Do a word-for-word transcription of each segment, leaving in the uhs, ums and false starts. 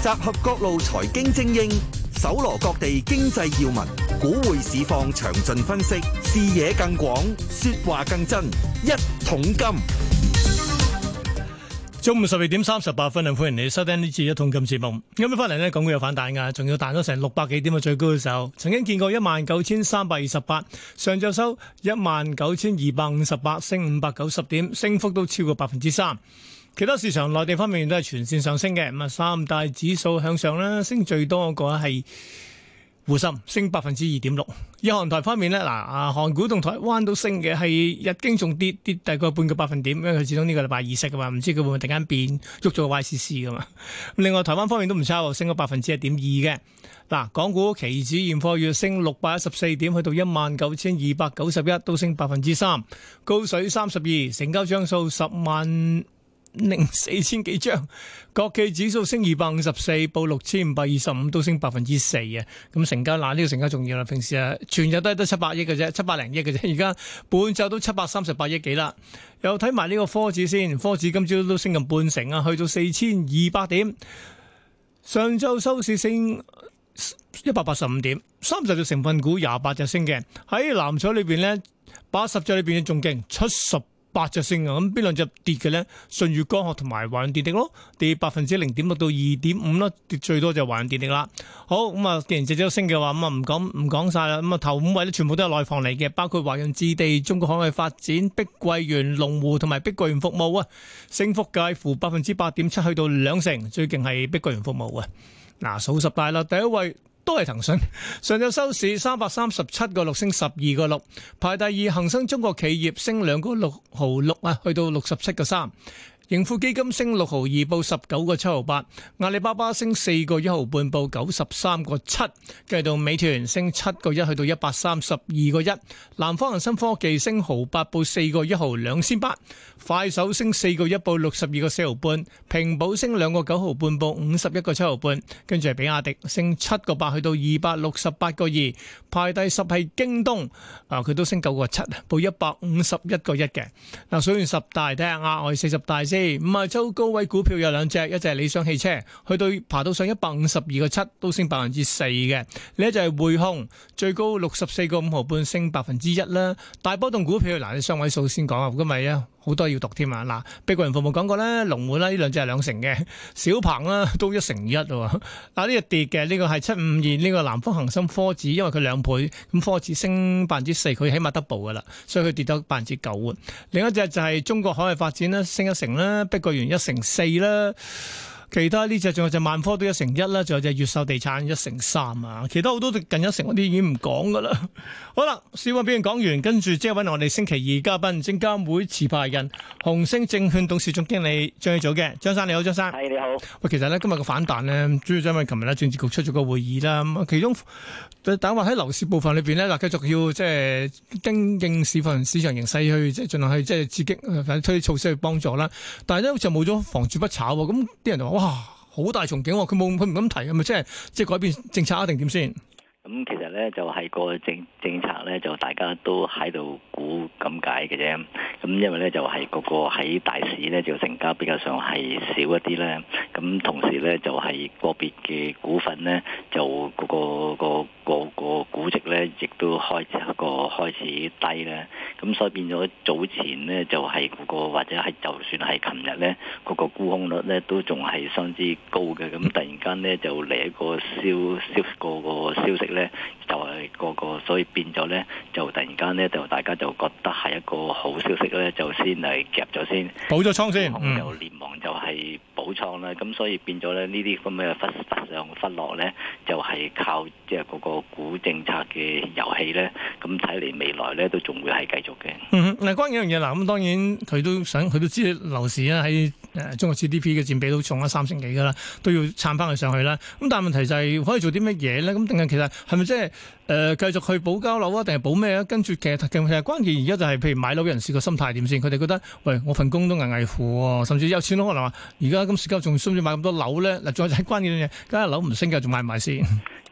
集合各路財經精英，搜羅各地經濟要聞，股匯市況詳盡分析，視野更廣，說話更真。一桶金， 中午十二點三十八分啊！歡迎你收聽呢次一桶金節目。今日翻嚟呢，港股有反彈噶，仲要彈咗成六百幾點嘅最高嘅時候，曾經見過一萬九千三百二十八，上晝收一萬九千二百五十八，升五百九十點，升幅都超過百分之三。其他市場內地方面都係全線上升嘅，咁啊三大指數向上啦，升最多嗰個係滬深，升百分之二點六。以韓台方面呢，嗱啊韓股同台灣都升嘅，係日經仲跌跌大概半個百分點，因為佢始終呢個禮拜二息噶嘛，唔知佢會唔會突然間變喐咗個 Y C C 噶嘛。另外台灣方面都唔差喎，升咗百分之一點二嘅。嗱，港股期指現貨月升六百一十四點，去到一萬九千二百九十一，都升百分之三，高水三十二，成交張數十萬零四千幾張，國企指數升二百五十四，報六千五百二十五，都升百分之四啊！咁成交嗱呢個成交重要啦，平時啊全日都係得七百億嘅啫，七百零億嘅啫，而家半晝都七百三十八億幾啦。又睇埋呢個科指先，科指今朝都升近半成啊，去到四千二百點，上晝收市升一百八十五點，三十隻成分股廿八隻升嘅，喺藍籌裏邊呢，八十隻裏邊仲勁，七十八隻升啊！咁邊兩隻跌嘅咧？舜宇光學同埋華潤電力咯，跌百分之零點六到二點五啦，跌最多就係華潤電力啦。好咁啊，既然隻隻都升嘅話，咁啊唔講唔講晒啦。咁啊頭五位咧全部都係內房嚟嘅，包括華潤置地、中國海外發展、碧桂園、龍湖同埋碧桂園服務啊，升幅介乎百分之八點七去到兩成，最勁係碧桂園服務啊！嗱，數十大啦，第一位都係騰訊，上晝收市三百三十七個六，升十二個六，排第二恒生中國企業升兩個六毫六啊，去到六十七個三。盈富基金升六毫二，報十九個七毫八；阿里巴巴升四個一毫半，報九十三個七。繼到美團升七個一，去到一百三十二個一。南方恒生科技升毫八，報四個一毫兩仙八。快手升四個一，報六十二個四毫半。平保升兩個九毫半，報五十一個七毫半。跟住係比亞迪升七個八，去到二百六十八個二。排第十係京東，啊佢都升九個七，報一百五十一個一嘅。嗱，數完十大，睇下額外四十大先。五十周高位股票有兩隻，一隻係理想汽車，去到爬到上一百五十二個七，都升百分之四嘅。另一隻係匯控，最高六十四個五毫半，升百分之一啦。大波動股票，嗱，你雙位數先講啊，今日啊好多要讀添啊。嗱，碧桂園服務講過咧，龍湖啦呢兩隻係兩成嘅，小鵬啦都一成一喎。嗱，呢個跌嘅，呢個係七五二，呢個南方恒生科指，因為佢兩倍，咁科指升百分之四，佢起碼 double 噶啦，所以佢跌咗百分之九啊。另一隻就係中國海外發展啦，升一成啦，碧桂園一成四啦。其他呢隻仲有隻萬科都一成一啦，仲有隻越秀地產一成三啊，其他好多近一成嗰啲已經唔講噶啦。好啦，小溫俾人講完，跟住即係揾我哋星期二嘉賓，證監會持牌人、紅星證券董事總經理張益祖嘅張生，你好，張生。 係你好。 喂，其實咧今日個反彈咧，主要就因為琴日咧政治局出咗個會議啦，咁其中等話喺樓市部分裏邊咧，嗱繼續要即係跟應市份市場形勢去即係盡量去即係刺激，或者推啲措施去幫助啦。但係咧好似冇咗房住不炒喎，咁啲人就話哇好大憧憬喎，佢冇佢唔敢提，係咪即係即係改變政策啊定點先？ 咁其實咧就係個政政策咧就大家都喺度估咁解嘅啫。咁因為咧就係嗰個喺大市咧就成交比較上係少一啲咧。咁同時咧就係個別嘅股份咧就嗰個個個個估值咧亦都開始一個開始低咧。咁所以變咗早前咧就係嗰個或者係就算係琴日咧嗰個沽空率咧都仲係相當之高嘅。咁突然間咧就嚟一個消消個個消息咧就係個個，所以變咗咧就突然間咧就大家就覺得係一個好消息咧，就先嚟夾咗先， 補咗倉先， 嗯、就連忙就係補倉啦。咁所以變咗咧呢啲咁嘅忽忽上忽落咧，就係、是、靠即係嗰個股政策嘅遊戲咧。咁睇嚟未來咧都仲會係繼續嘅。 嗯，嗱，關於一樣嘢嗱，咁當然佢都想，佢都知樓市啊喺誒中國 G D P 嘅佔比都重咗三成幾噶啦，都要撐翻佢上去啦。咁但係問題就係可以做啲乜嘢咧？咁定係其實係咪即係誒繼續去保交樓啊？定係保咩啊？跟住其實其實關鍵而家就係譬如買樓嘅人士個心態點先？佢哋覺得喂，我份工都危危乎喎，甚至有錢佬可能話而家今時今日仲需唔需要買咁多樓咧？嗱，再就係關鍵嘅嘢，梗係樓唔升嘅，仲買唔買先？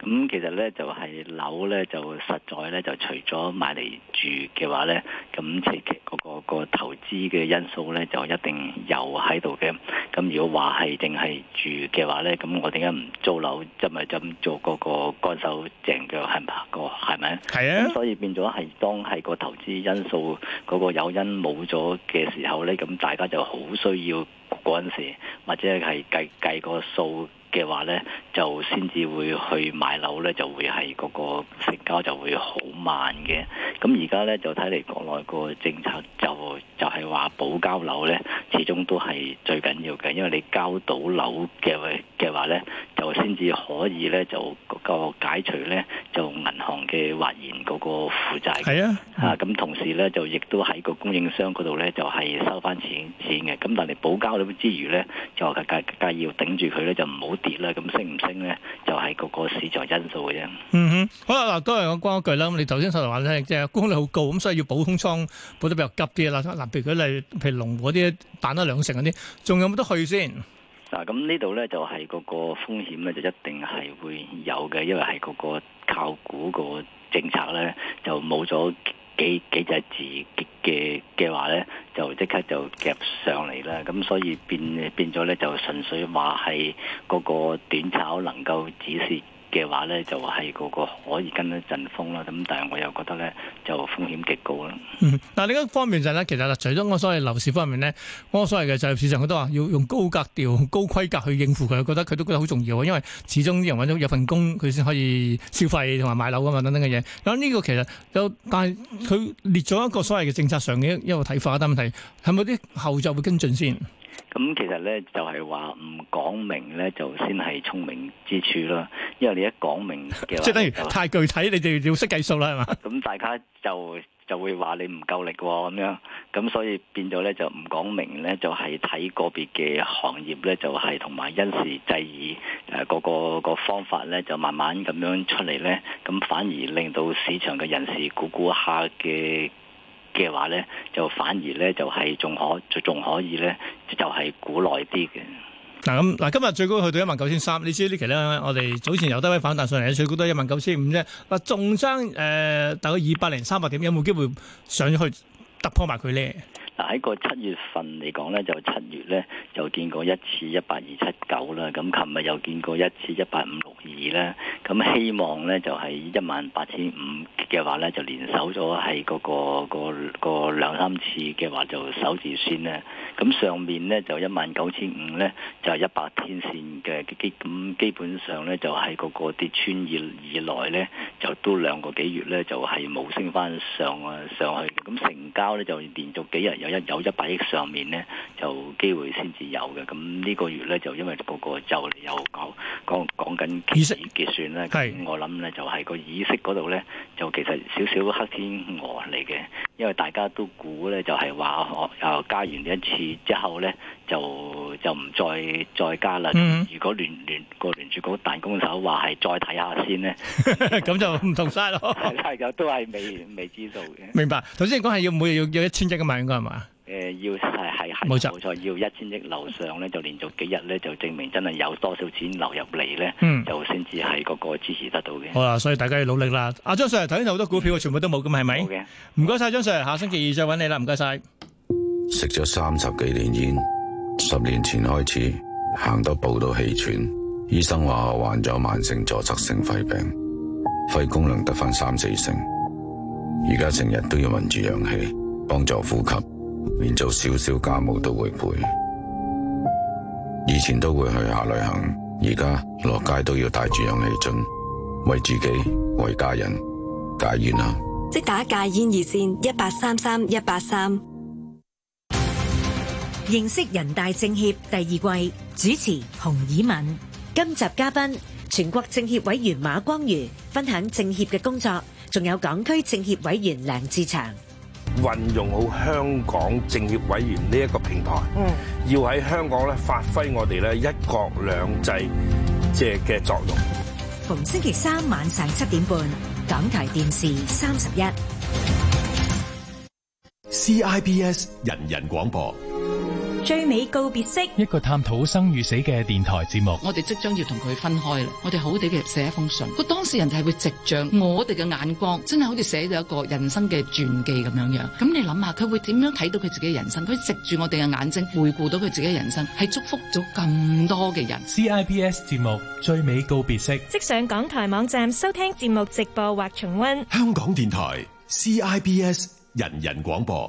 咁其實咧就係樓咧就實在咧就除咗買嚟住嘅話咧，咁其實嗰個個投資嘅因素咧就一定有喺度嘅。咁如果話係淨係住嘅話咧，咁我點解唔租樓，就咪就咁做嗰個乾手淨腳係咪個係咪？ 係啊。 咁所以變咗係當係個投資因素嗰個誘因冇咗嘅時候咧，咁大家就好需要嗰陣時，或者係計計個數嘅話咧，就先至會去買樓咧，就會係嗰個成交就會好慢嘅。咁而家咧就睇嚟國內個政策就就係話保交樓咧，始終都係最緊要嘅，因為你交到樓嘅嘅話咧，就先至可以咧就個解除咧就銀行嘅或然嗰個負債。 係啊， 啊咁同時咧就亦都喺個供應商嗰度咧就係、是、收翻錢錢嘅。咁但係保交樓之餘咧，就梗梗梗要頂住佢咧，就唔好跌啦。咁升唔升咧，就係、是、個個市場因素嘅啫。 嗯哼，好啦，嗱，都係我講一句啦。咁你頭先所話咧，即係沽空率好高，咁所以要補空倉補得比較急啲啦。嗱，譬如佢例，譬如龍湖嗰啲彈得兩成嗰啲，仲有冇得去先？ 嗱，咁呢度咧就係、是、嗰個風險咧，就一定係會有嘅，因為係嗰個靠股個政策咧，就冇咗幾幾隻字嘅嘅話咧，就即刻就夾上嚟啦。咁所以變變咗咧，就純粹話係嗰個短炒能夠止蝕嘅話咧，就係、是、嗰個可以跟一陣風啦。咁但係我又覺得咧，就風險極高啦。 嗯，嗱另一方面就係、是、咧，其實啦，除咗我所謂樓市方面咧，我所謂嘅就係市場佢都話要用高格調、高規格去應付佢，覺得佢都覺得好重要，因為始終啲人揾到有份工，佢先可以消費同埋買樓啊嘛，等等嘅嘢。咁呢個其實有，但係佢列咗一個所謂嘅政策上嘅一個睇法，但問題係咪啲後續會跟進先？ 咁其實咧就係話唔講明咧，就先係聰明之處啦。因為你一講明嘅話， 即係等於太具體，你哋要識計數啦，係嘛？ 咁大家就就會話你唔夠力喎、哦，咁樣。咁所以變咗咧就唔講明咧，就係、是、睇個別嘅行業咧，就係同埋因時制宜誒嗰個個方法咧，就慢慢咁樣出嚟咧，咁反而令到市場嘅人士估估下嘅嘅話咧，就反而咧就係、是、仲可仲可以咧，就係、是、估耐啲嘅。 嗱咁嗱，今日最高去到一萬九千三，你知呢期咧，我哋早前由低位反彈上嚟，最高都一萬九千五啫。嗱，仲爭誒大概二百零三百點，有冇機會上去突破埋佢咧？ 嗱喺個七月份嚟講咧，就七月咧就見過一次一八二七九啦，咁琴日又見過一次一八五六二啦，咁希望咧就係一萬八千五嘅話咧，就連守咗係嗰個個個兩三次嘅話就守住先咧，咁上面咧就一萬九千五咧就係一百天線嘅基，咁基本上咧就係嗰個跌穿以以來咧就都兩個幾月咧就係冇升翻上啊上去，咁成交咧就連續幾日有一有一百億上面咧就機會先至有嘅，咁呢個月咧就因為個個就有講講講緊結息結算咧，咁我諗咧就係個議息嗰度咧就其實少少黑天鵝嚟嘅，因為大家都估咧就係話我又加完一次之後咧就就唔再再加啦。嗯、如果聯聯個聯儲局彈弓手話係再睇下先咧， 咁就唔同晒咯。 係嘅，都係未未知數嘅。 明白。頭先你講係要每日要要一千億嘅嘛，應該係嘛？ 誒、呃、要係係係冇錯冇錯，要一千億樓上咧，就連續幾日咧，就證明真係有多少錢流入嚟咧，嗯、就先至係嗰個支持得到嘅。 好啦，所以大家要努力啦。阿張 Sir 頭先好多股票，全部都冇咁係咪？好嘅，唔該晒張 Sir，下星期二再揾你啦，唔該晒。 食咗三十幾年煙，十年前開始行多步都氣喘，醫生話我患咗慢性阻塞性肺病，肺功能得返三四成，而家成日都要聞住氧氣幫助呼吸。連做少少家務都會背，以前都會去下旅行，而家落街都要帶住氧氣樽，為自己為家人戒煙啦。 即打戒煙熱線一八三三一八三。認識人大政協第二季主持洪以敏，今集嘉賓全國政協委員馬光瑜分享政協嘅工作，仲有港區政協委員梁志祥。 運用好香港政協委員呢一個平台，嗯，要喺香港咧發揮我哋咧一國兩制即係嘅作用。 逢星期三晚上七點半，港台電視三十一 C I B S 人人廣播。 最美告別式， 一個探討生與死嘅電台節目。 我哋即將要同佢分開啦，我哋好好地嘅寫一封信，個當事人就係會藉着我哋嘅眼光，真係好似寫咗一個人生嘅傳記咁樣樣。咁你諗下，佢會點樣睇到佢自己嘅人生？佢藉住我哋嘅眼睛，回顧到佢自己嘅人生，係祝福咗咁多嘅人。 C I B S 節目最美告別式， 即上港台網站收聽節目直播或重溫。 香港電台 C I B S 人人廣播。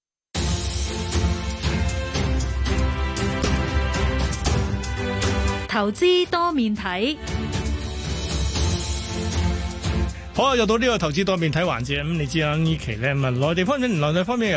投資多面睇， 好啊！又到呢個投資多面睇環節，咁你知啦，呢期咧咁啊，內地方面，內地方面